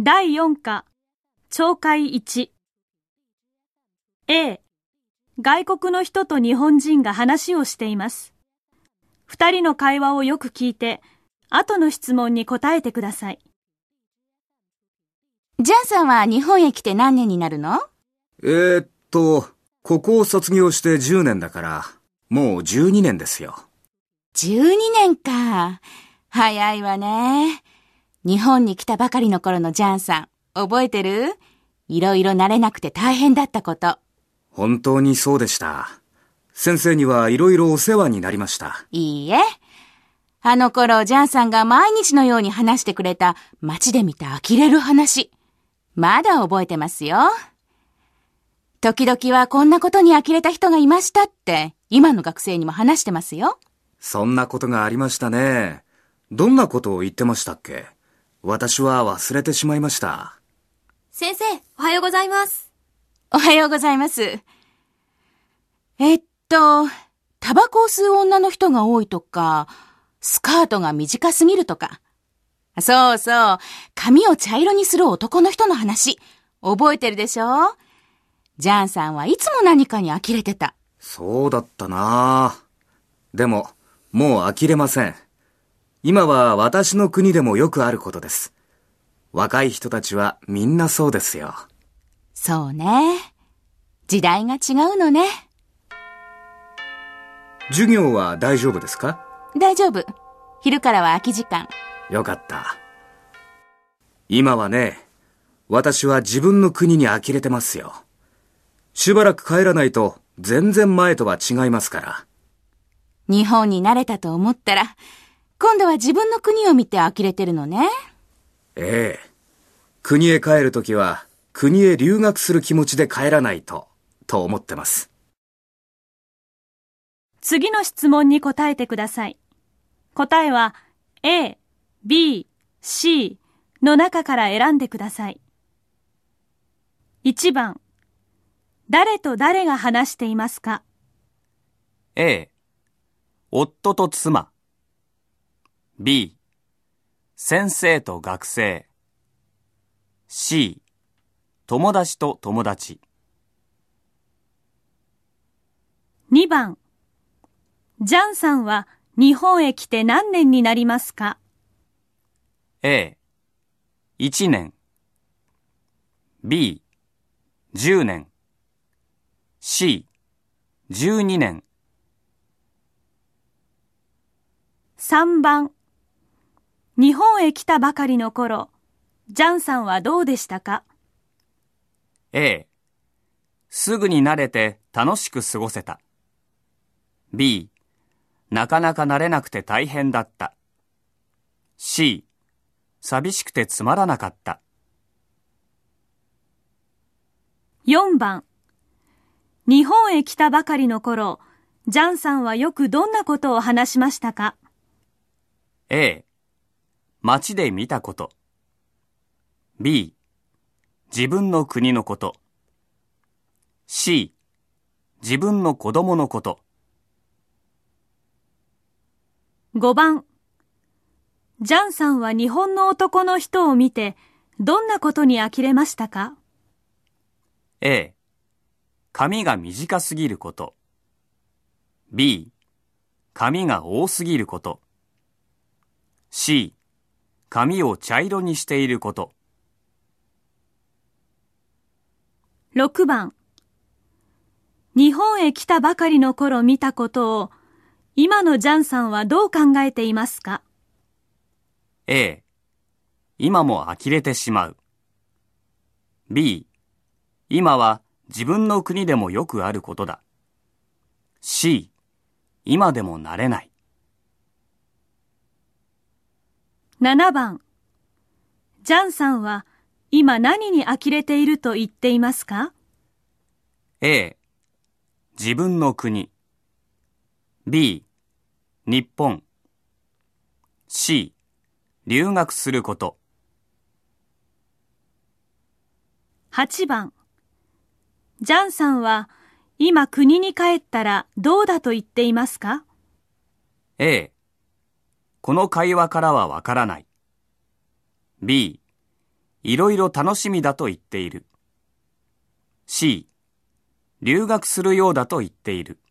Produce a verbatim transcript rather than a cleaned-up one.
だいよん課、聴解いち。A、外国の人と日本人が話をしています。二人の会話をよく聞いて、後の質問に答えてください。 ジャンさんは日本へ来て何年になるの？ えーっと、ここを卒業してじゅうねんだから、もうじゅうにねんですよ。 じゅうにねんか。早いわね。日本に来たばかりの頃のジャンさん、覚えてる？いろいろ慣れなくて大変だったこと。 本当にそうでした。先生にはいろいろお世話になりました。 いいえ。あの頃、ジャンさんが毎日のように話してくれた街で見た呆れる話。まだ覚えてますよ。時々はこんなことに呆れた人がいましたって、今の学生にも話してますよ。 そんなことがありましたね。どんなことを言ってましたっけ？私は忘れてしまいました。 先生、おはようございます。 おはようございます。えっと、タバコを吸う女の人が多いとか、スカートが短すぎるとか。そうそう、髪を茶色にする男の人の話。覚えてるでしょ？ジャンさんはいつも何かに呆れてた。 そうだったな。でも、もう呆れません。今は私の国でもよくあることです。若い人たちはみんなそうですよ。 そうね。時代が違うのね。 授業は大丈夫ですか？ 大丈夫。昼からは空き時間。 よかった。今はね、私は自分の国に呆れてますよ。しばらく帰らないと全然前とは違いますから。 日本に慣れたと思ったら、今度は自分の国を見て呆れてるのね。 ええ。国へ帰るときは、国へ留学する気持ちで帰らないと、と思ってます。 次の質問に答えてください。答えは A、B、C の中から選んでください。いちばん、誰と誰が話していますか？ A、夫と妻。B、先生と学生。C、友達と友達。 にばん、ジャンさんは日本へ来て何年になりますか？ A、いちねん。B、じゅうねん。C、じゅうにねん。 さんばん、日本へ来たばかりの頃、ジャンさんはどうでしたか？ A、すぐに慣れて楽しく過ごせた。B、なかなか慣れなくて大変だった。C、寂しくてつまらなかった。 よんばん、日本へ来たばかりの頃、ジャンさんはよくどんなことを話しましたか？ A、街で見たこと。B、自分の国のこと。C、自分の子供のこと。 ごばん、ジャンさんは日本の男の人を見て、どんなことに呆れましたか？ A、髪が短すぎること。B、髪が多すぎること。C、髪を茶色にしていること。 ろくばん、日本へ来たばかりの頃見たことを、今のジャンさんはどう考えていますか？ A、今も呆れてしまう。B、今は自分の国でもよくあることだ。C、今でも慣れない。 ななばん、ジャンさんは今何に呆れていると言っていますか？ A、自分の国。B、日本。C、留学すること。 はちばん、ジャンさんは今国に帰ったらどうだと言っていますか？ A、この会話からはわからない。B、 いろいろ楽しみだと言っている。C、留学するようだと言っている。